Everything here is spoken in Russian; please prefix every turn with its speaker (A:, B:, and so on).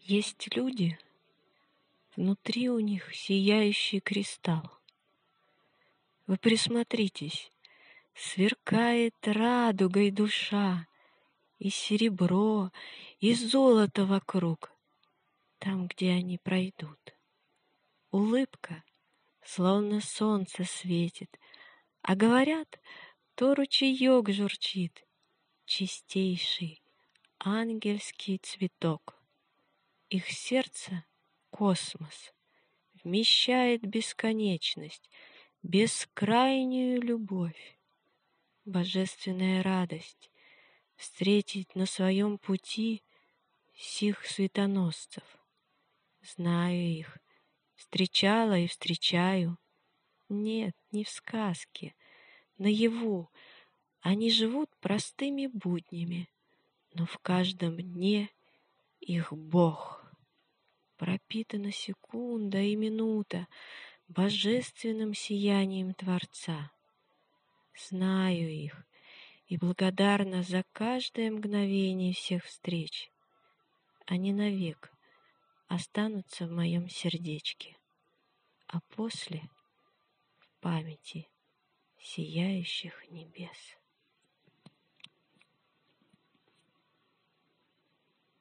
A: Есть люди, внутри у них сияющий кристалл. Вы присмотритесь, сверкает радугой душа, и серебро, и золото вокруг, там, где они пройдут. Улыбка, словно солнце светит, а говорят, то ручеек журчит, чистейший ангельский цветок. Их сердце — космос, вмещает бесконечность, бескрайнюю любовь, божественная радость встретить на своем пути сих светоносцев. Знаю их, встречала и встречаю. Нет, не в сказке, наяву. Они живут простыми буднями, но в каждом дне их Бог. Пропитана секунда и минута божественным сиянием Творца. Знаю их и благодарна за каждое мгновение всех встреч. Они навек останутся в моем сердечке, а после — в памяти сияющих небес.